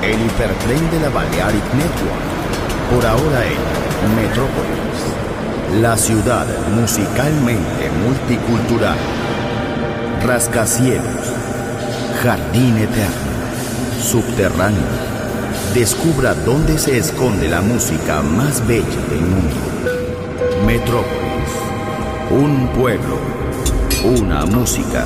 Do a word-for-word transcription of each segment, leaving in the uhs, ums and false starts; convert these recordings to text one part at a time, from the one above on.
el hipertren de la Balearic Network, por ahora en Metrópolis, la ciudad musicalmente multicultural. Rascacielos, jardín eterno, subterráneo. Descubra dónde se esconde la música más bella del mundo. Metrópolis, un pueblo, una música.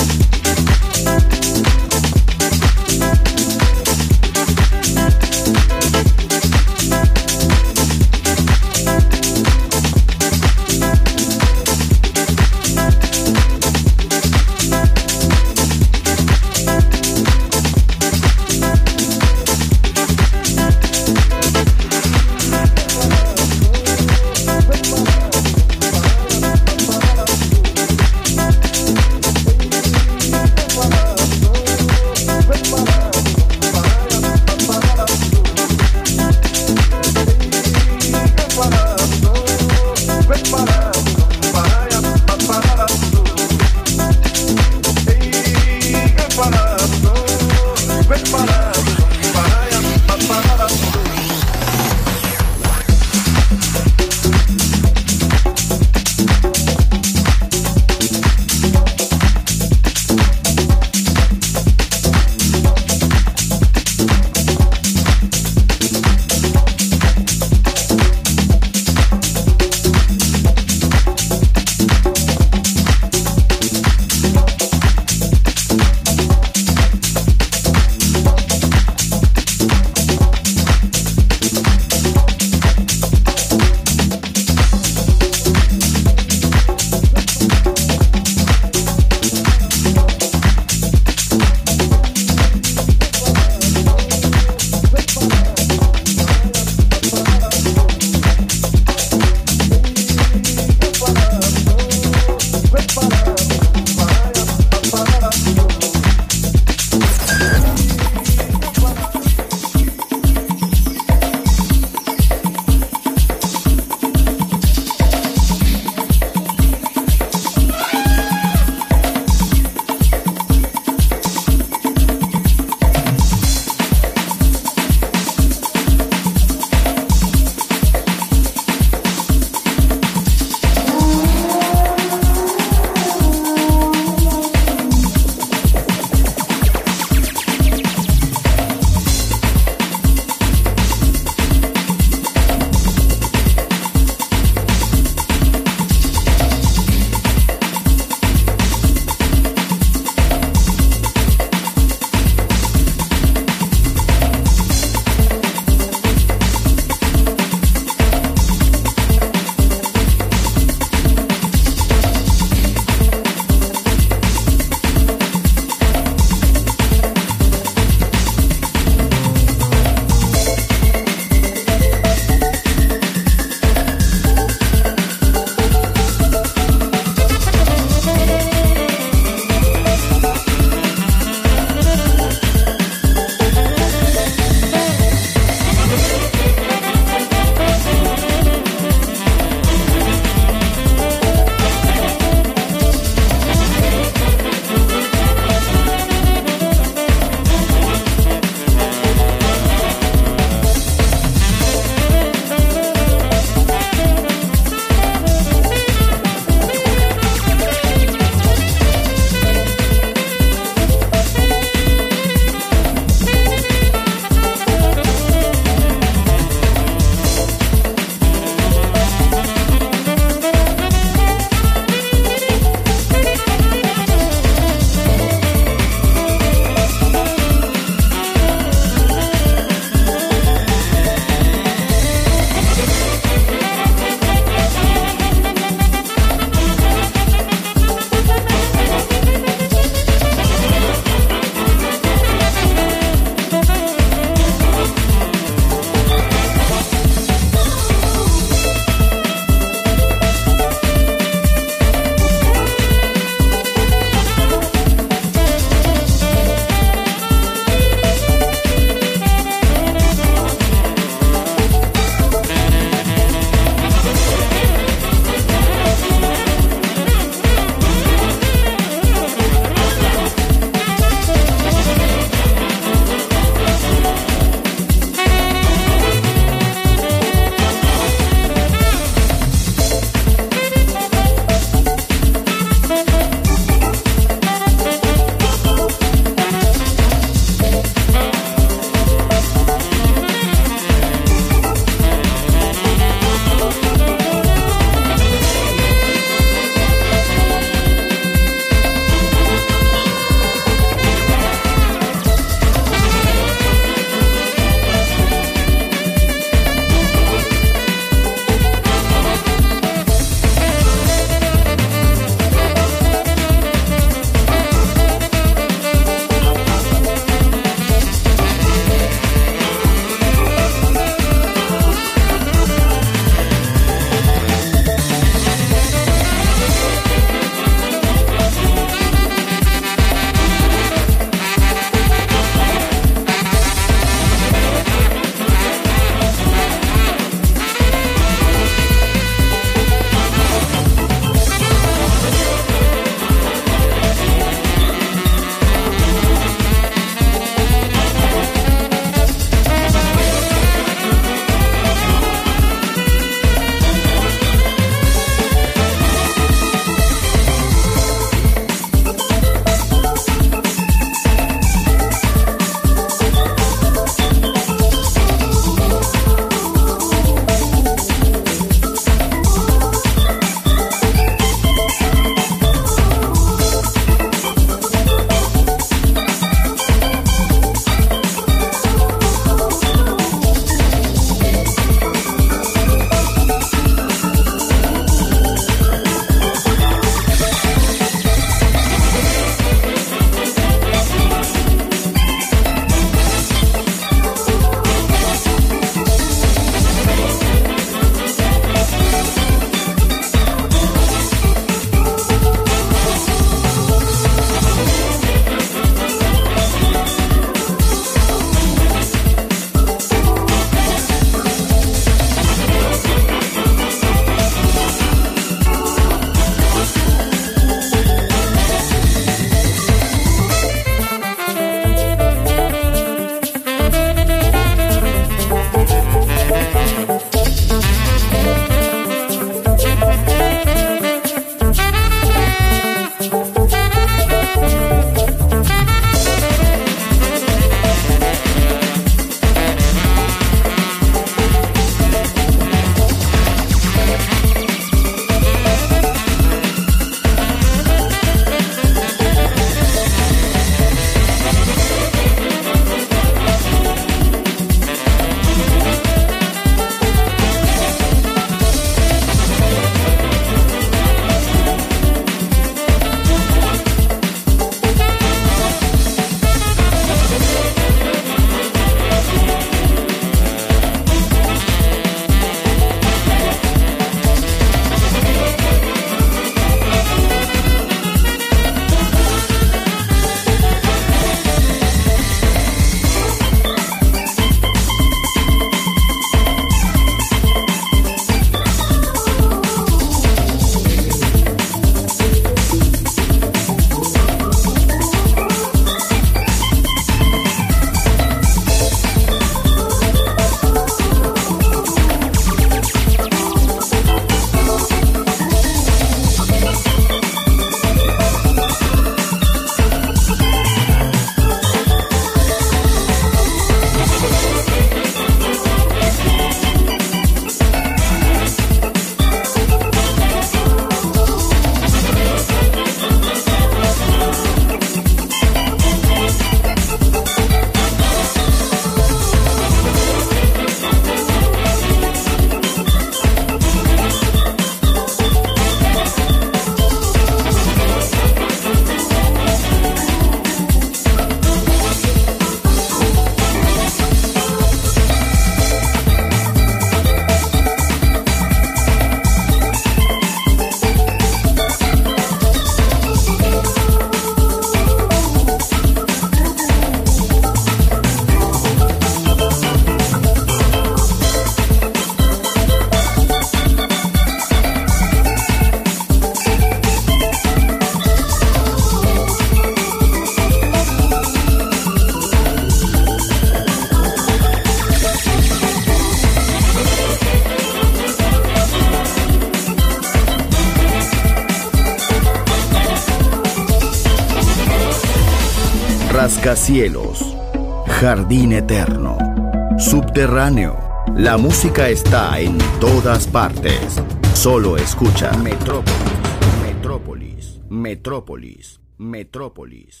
rascacielos, jardín eterno, subterráneo. La música está en todas partes. Solo escucha Metrópolis, Metrópolis, Metrópolis, Metrópolis.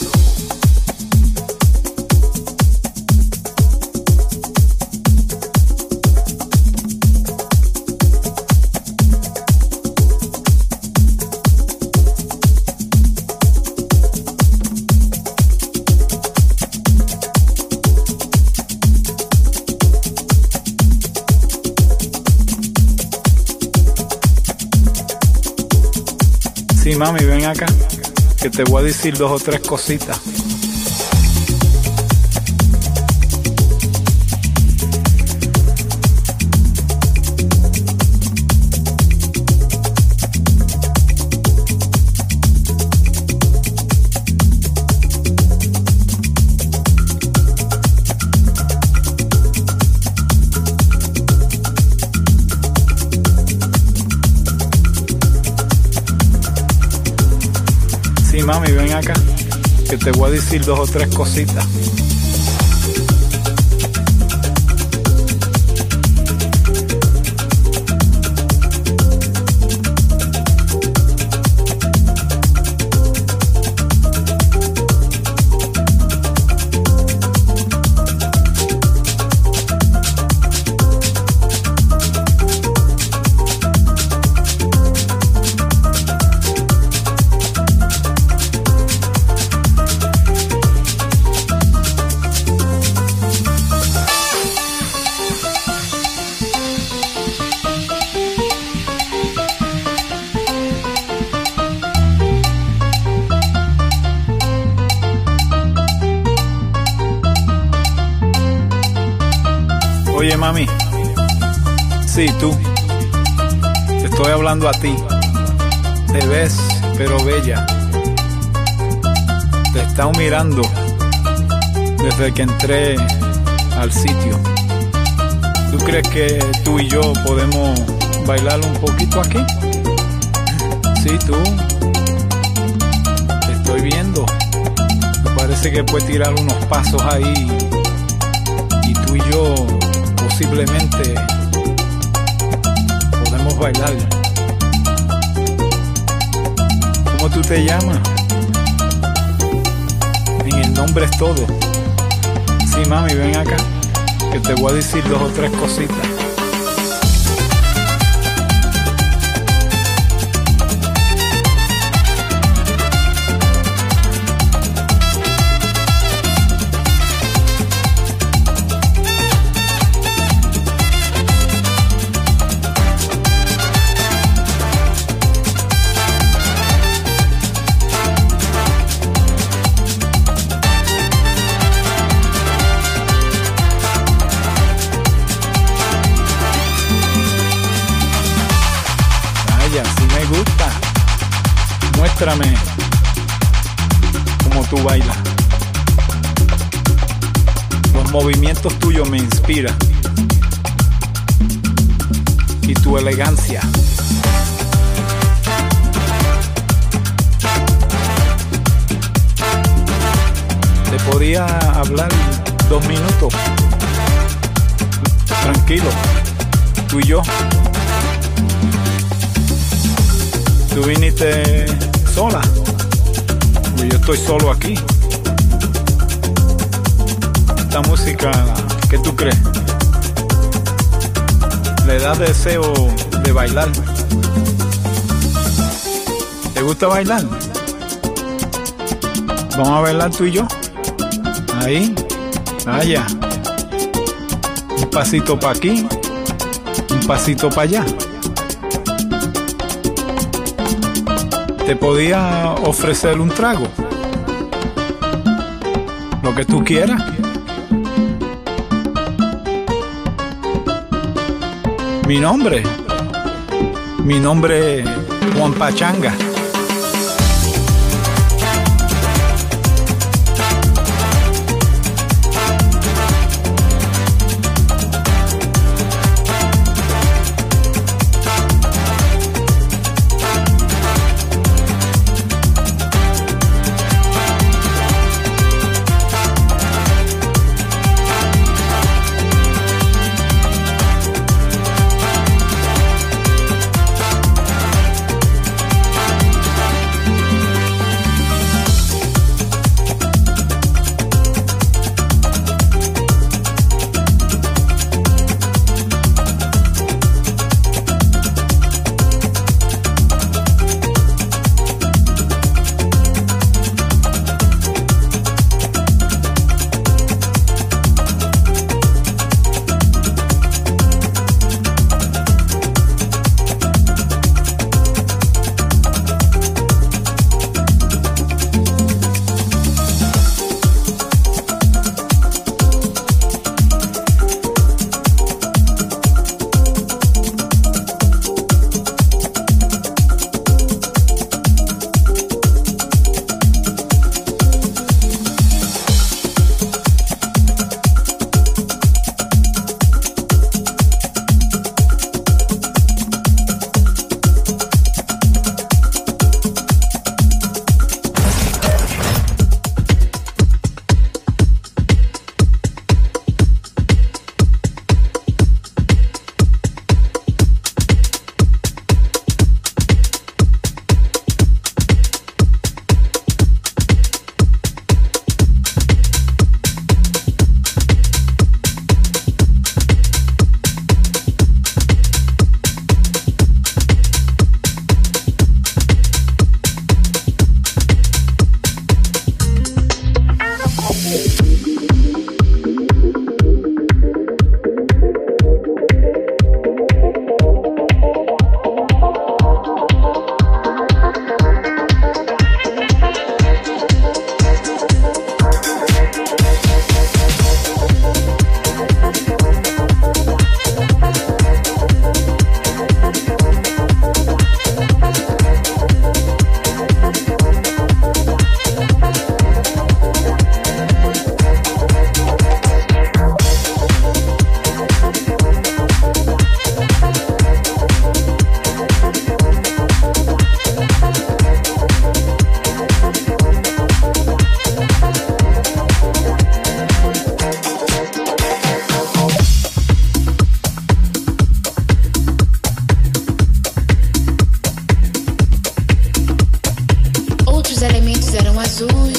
Sí, mami, ven acá, que te voy a decir dos o tres cositas. Sí, mami, ven acá, que te voy a decir dos o tres cositas. Oye, mami, sí, tú, te estoy hablando a ti. Te ves, pero bella. Te he estado mirando desde que entré al sitio. ¿Tú crees que tú y yo podemos bailar un poquito aquí? Sí, tú, te estoy viendo. Me parece que puedes tirar unos pasos ahí y tú y yo posiblemente podemos bailar. ¿Cómo tú te llamas? En el nombre es todo. Sí, mami, ven acá, que te voy a decir dos o tres cositas. Si me gusta, muéstrame cómo tú bailas. Los movimientos tuyos me inspiran y tu elegancia. Te podía hablar dos minutos, tranquilo, tú y yo. Tú viniste sola, pues yo estoy solo aquí. Esta música, ¿qué tú crees? Le da deseo de bailar. ¿Te gusta bailar? Vamos a bailar tú y yo. Ahí, allá. Un pasito para aquí, un pasito para allá. Te podía ofrecer un trago, lo que tú quieras. Mi nombre, mi nombre es Juan Pachanga.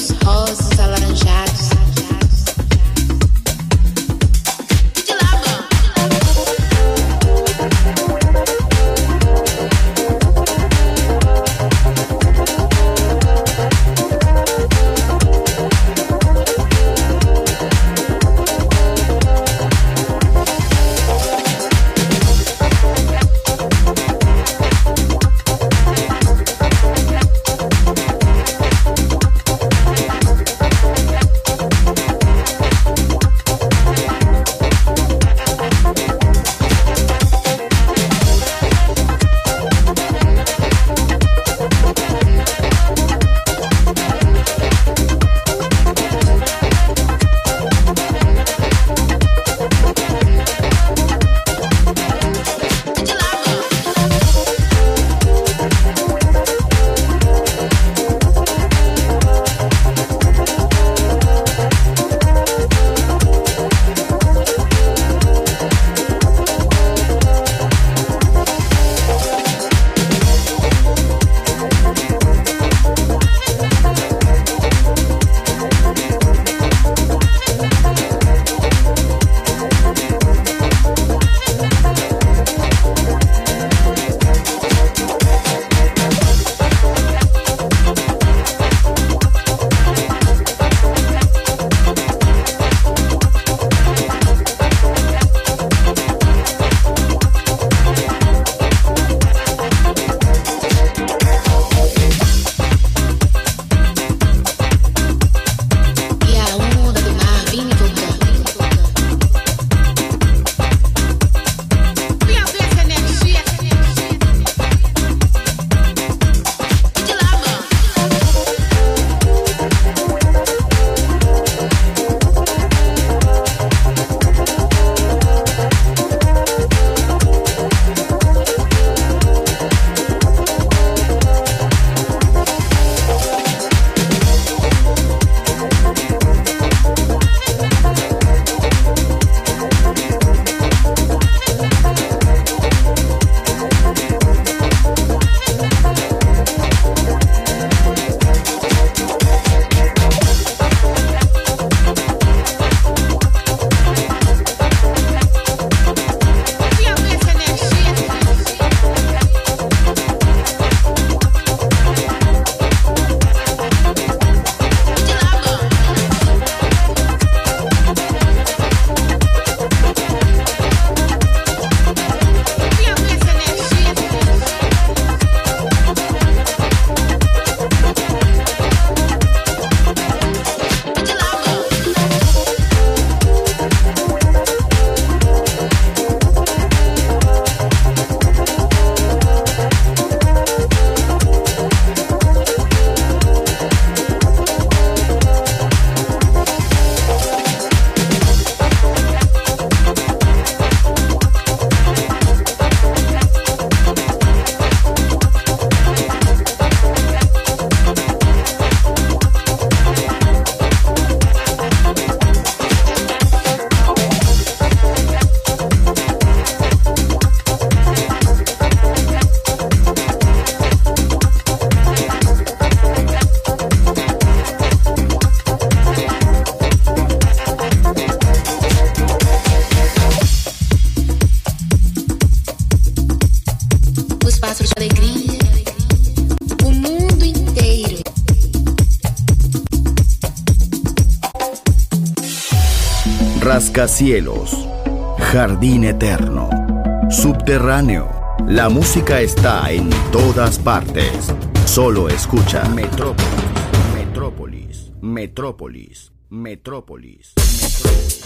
vermelhos, rosas, alaranjados. Rascacielos, jardín eterno, subterráneo. La música está en todas partes. Solo escucha Metrópolis, Metrópolis, Metrópolis, Metrópolis, Metrópolis.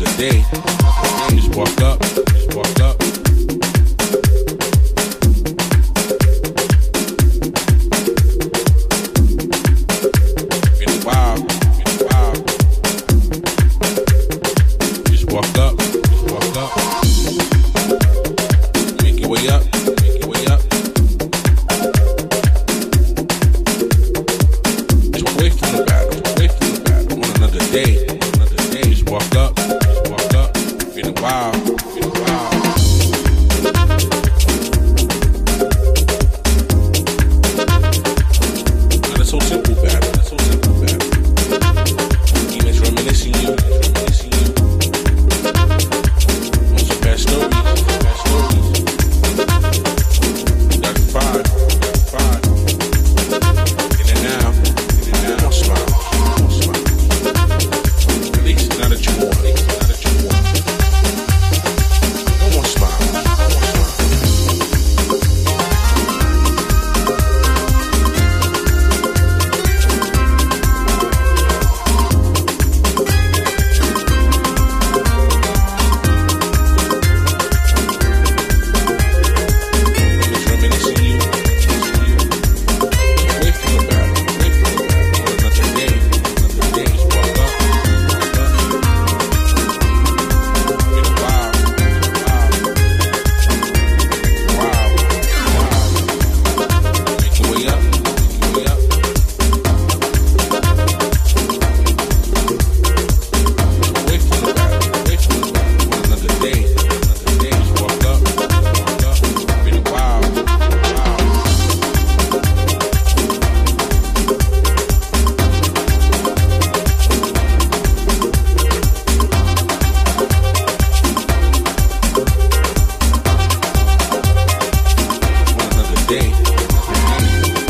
another day. Just walk up, just walk up. Feeling wild, feeling wild. Just walk up, just walk up. Make your way up, make your way up. Just away from the battle, away from the battle. On another day, another day. Just walk up, just walk up. Feeling wild, feeling wild. Now that's so simple, battle. That's so simple, battle. Demons reminiscing you, reminiscing you. On some bad stories, bad stories. Got five, got five. In and out, in and out. Don't smile, don't smile. At least now that you want, at least now that you want. Don't want to smile, don't want to smile. Demons reminiscing you, away from the battle, away from the battle. On another day, another day. Just walk up, walk up. Feeling wild, wild, wild, wild. Make your way up, make your way up. Away from the battle, away from the battle. On another day, another day. Just walk up, walk up. Feeling wild, wild. On another day, another day.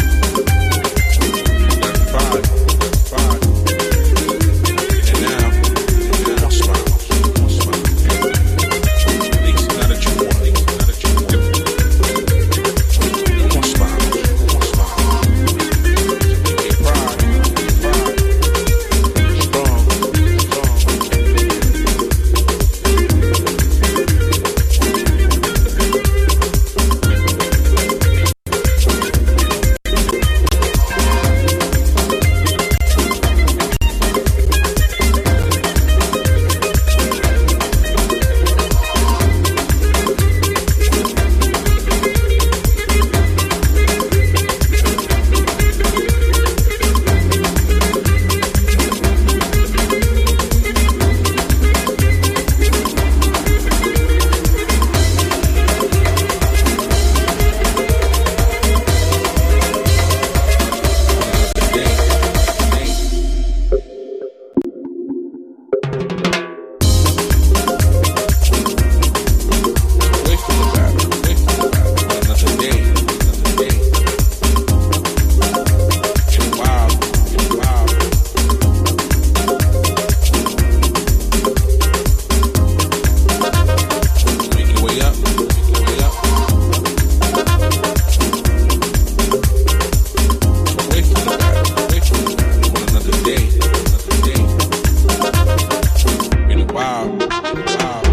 Got five, got five. In and out, in and out. Don't smile, don't smile. At least now that you want, at least now that you want. Don't want to smile, don't want to smile. Get pride, pride. Strong, strong. Away from the battle, away from the battle. On another day, another day. Feeling wild, feeling wild. Make your way up, make your way up. Away from the battle, away from the battle. On another day, another day. Feeling wild, wild.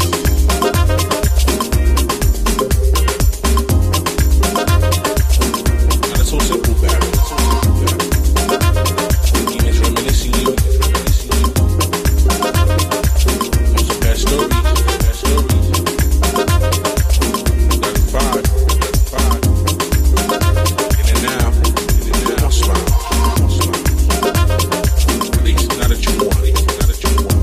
Now that's so simple, battle. That's so simple, battle. Demons reminiscing you, reminiscing you. On some bad stories, bad stories. Got five, got five. In and out, in and out. Don't smile, don't smile. At least now that you want, at least now that you want.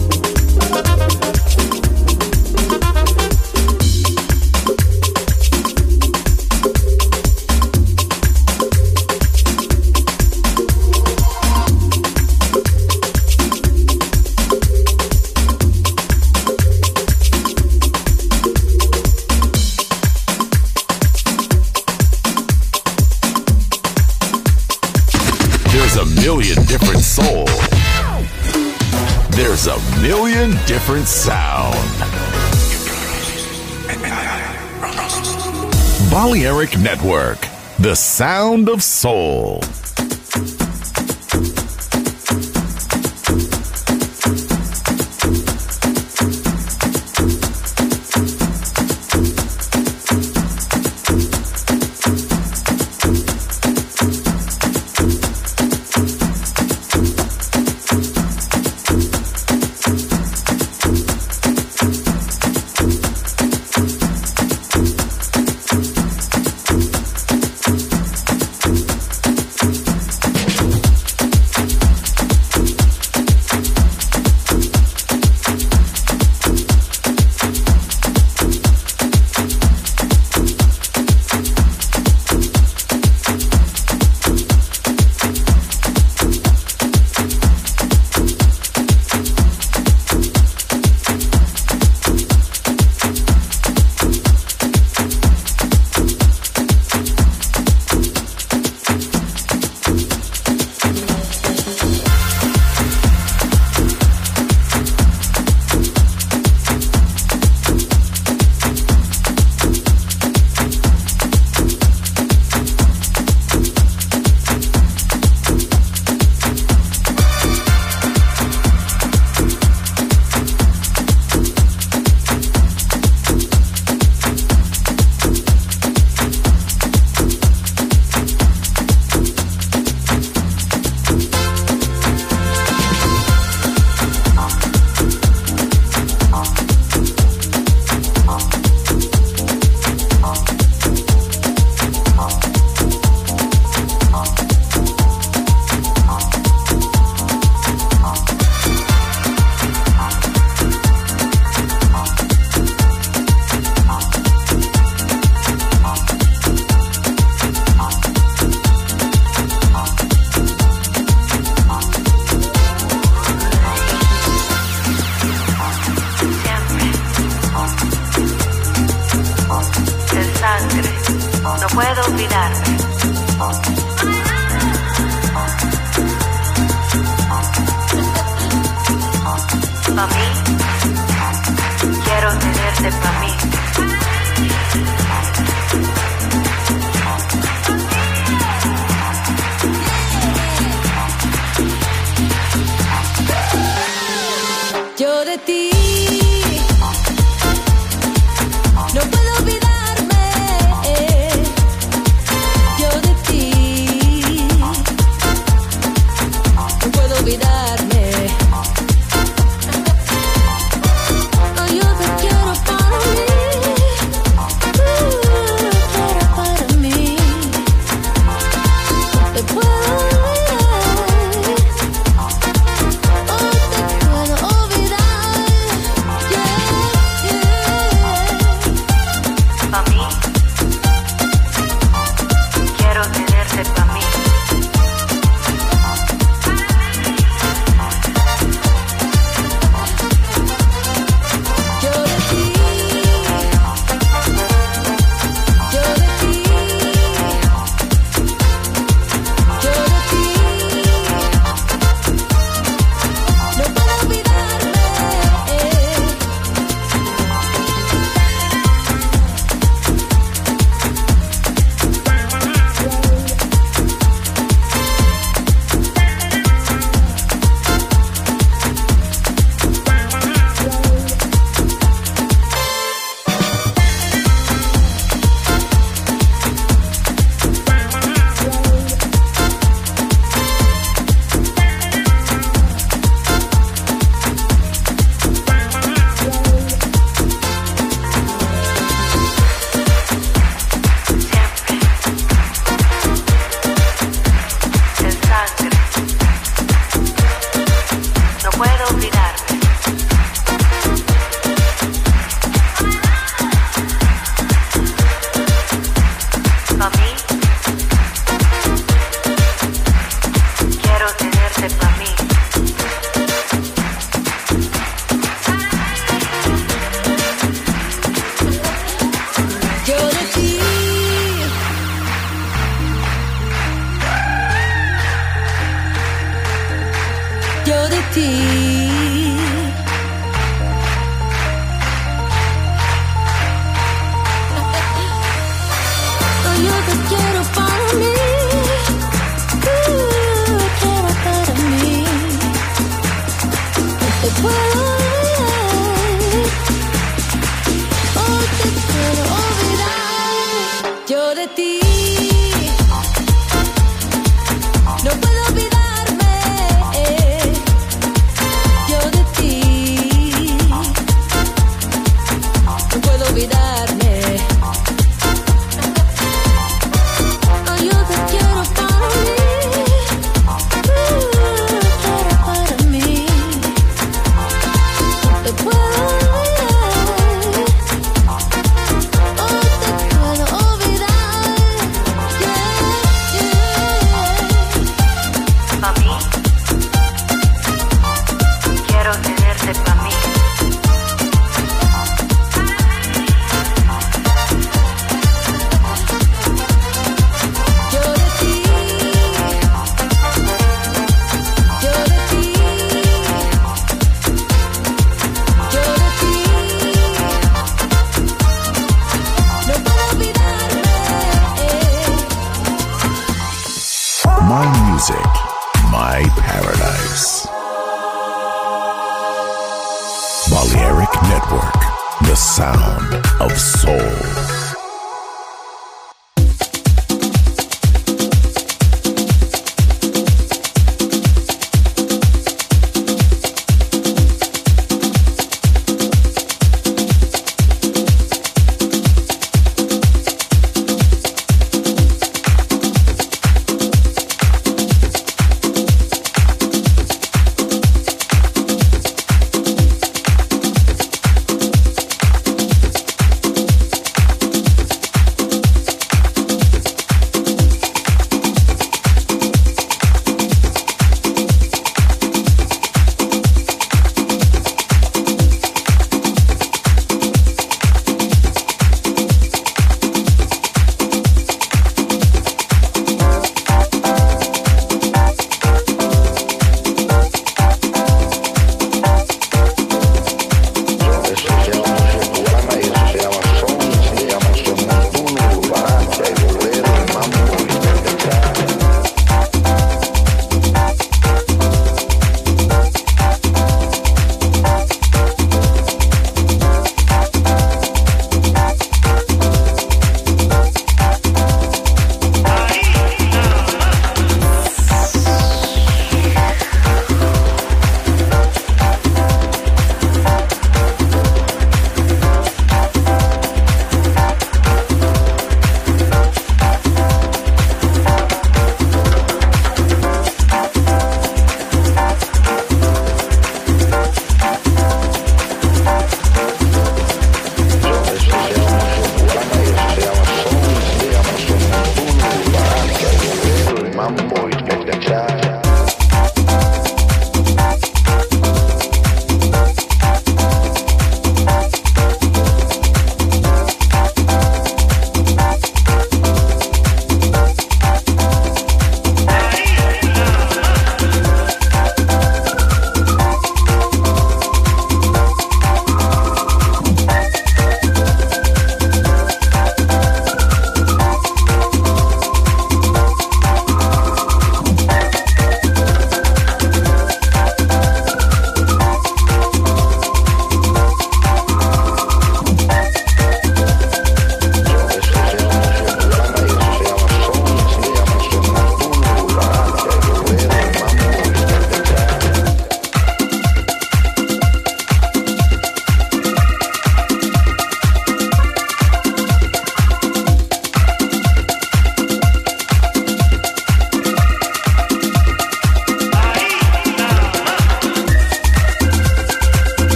There's a million different soul. There's a million different sound. Balearic Network, the sound of soul. puedo olvidarme. Pa' mí, quiero tenerte pa' mí. Yo de ti no puedo olvidarme. Yo de ti no puedo olvidarme. Oh, yo te quiero para mí. Uh, quiero para mí. Te puedo olvidar. Oh, te puedo olvidar. Yeah, yeah. Pa' mí, quiero tenerte pa' mí. Yo de ti, yo de ti, yo de ti, no puedo olvidarme. En sangre, no puedo olvidarme. Pa' mí, quiero tenerte pa' mí. Yo de ti, yo de ti, oh, yo te quiero para mí. Uh, quiero para mí. Te puedo olvidar. Oh, te puedo olvidar. Yo de ti no puedo olvidarme. Yo de ti no puedo olvidarme. Oh, yo te quiero para mí. Uh, quiero para mí. Te puedo olvidar. Oh, te puedo olvidar. Yeah, yeah. Pa' mí, quiero tenerte pa' mí. Yo de ti, yo de ti, yo de ti, no puedo olvidarme. My music, my paradise. Balearic Network, the sound of soul.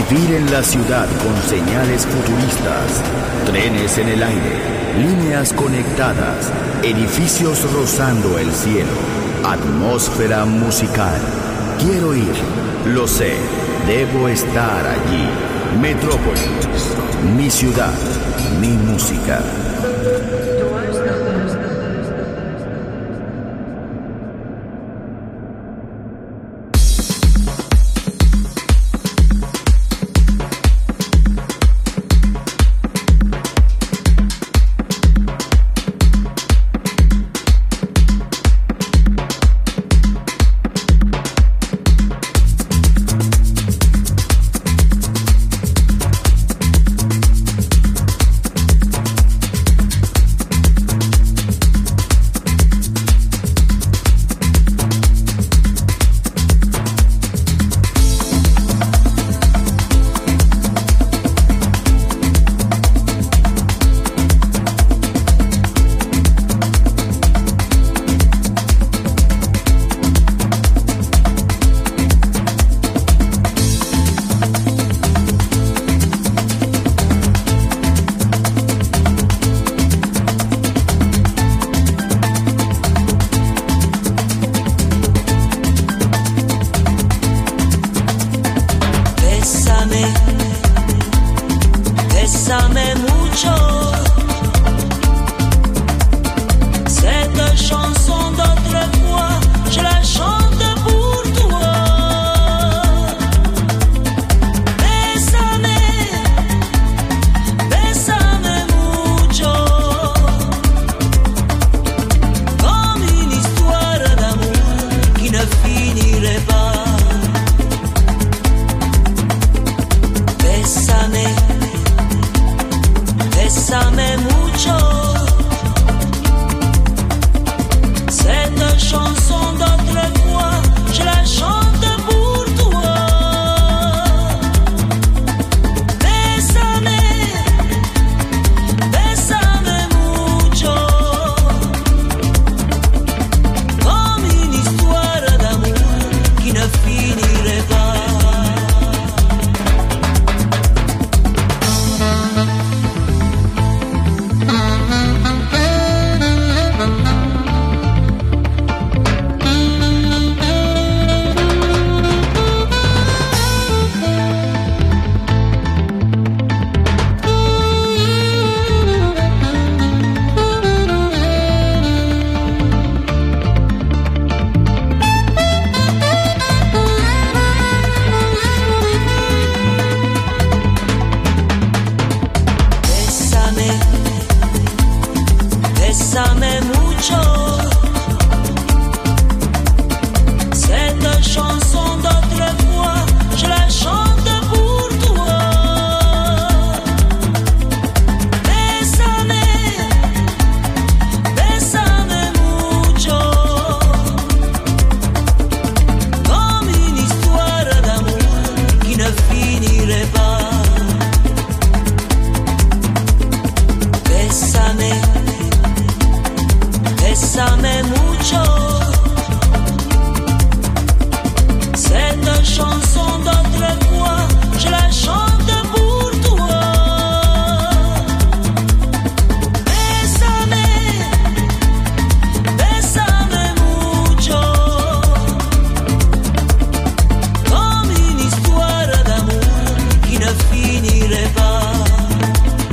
Vivir en la ciudad con señales futuristas, trenes en el aire, líneas conectadas, edificios rozando el cielo, atmósfera musical. Quiero ir, lo sé, debo estar allí. Metrópolis, mi ciudad, mi música.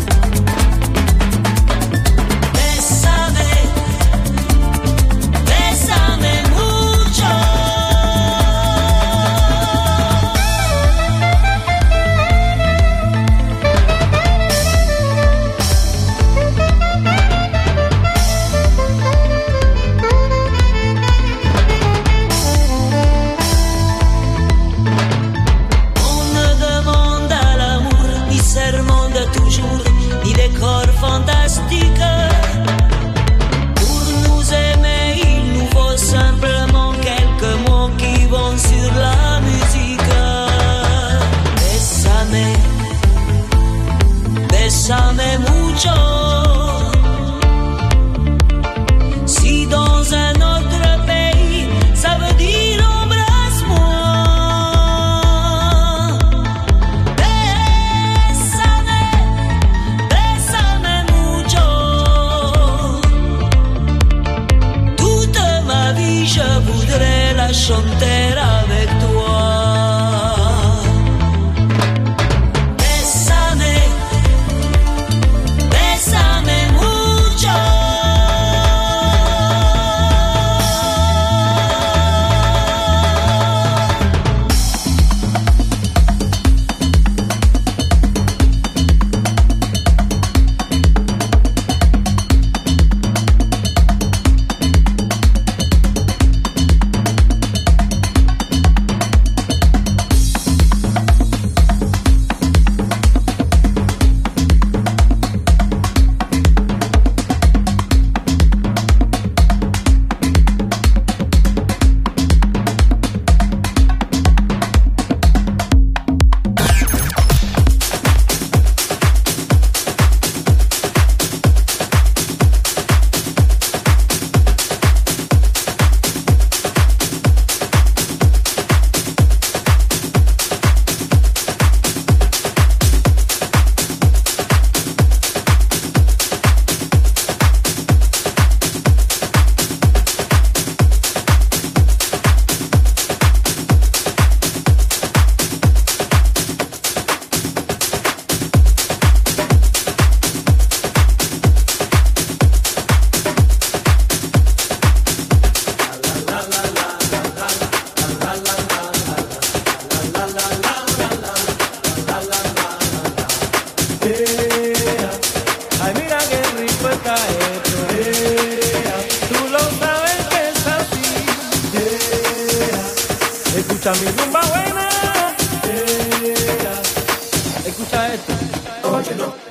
Bésame, la frontera de toi. Bésame, bésame mucho. Escucha mi rumba buena. Escucha esto. Oye, no.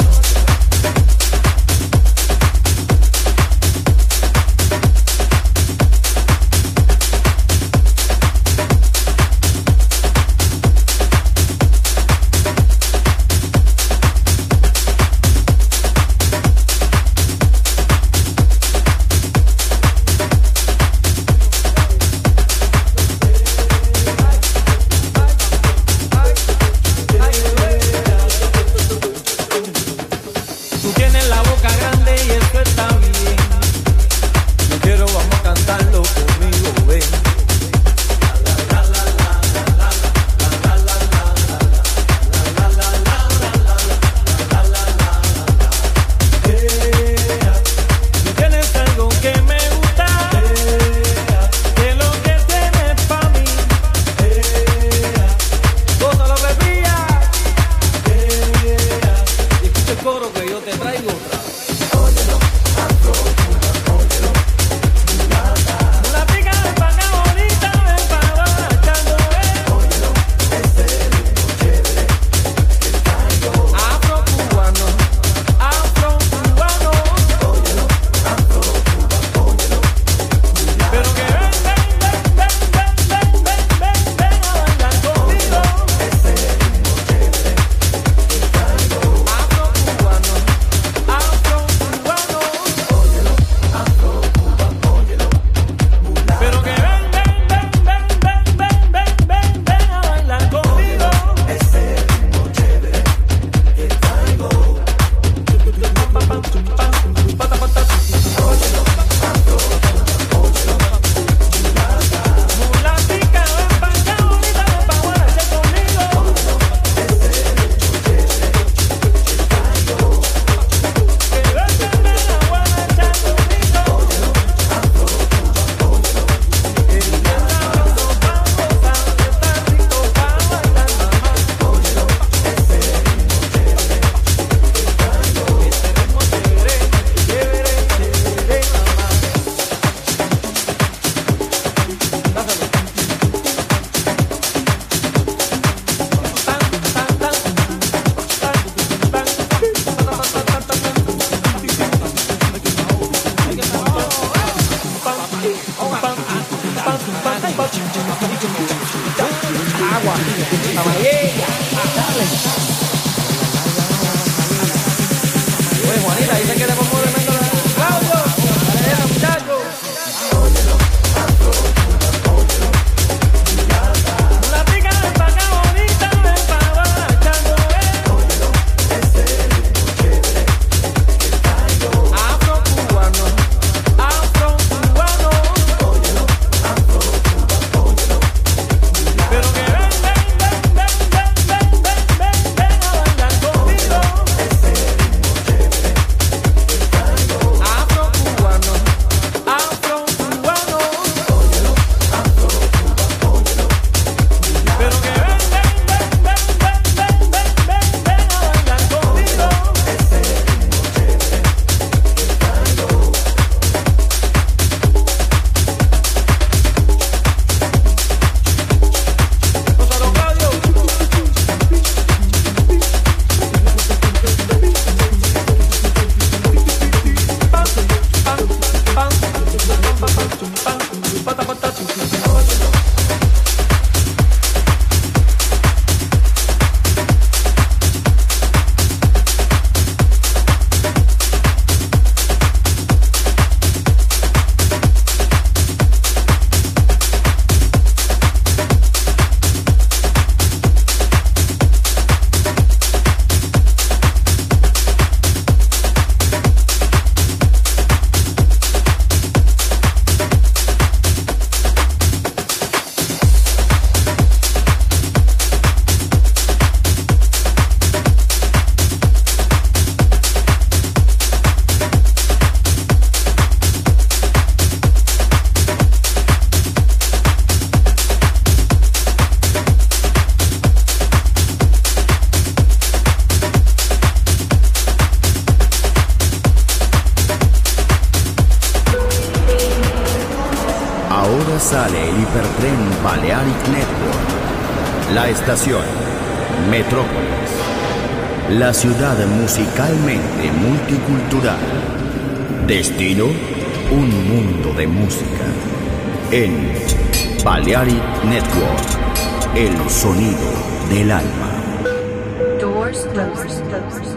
Ahora sale el hipertren Balearic Network. La estación Metrópolis. La ciudad musicalmente multicultural. Destino, un mundo de música. En Balearic Network, el sonido del alma. Doors closed.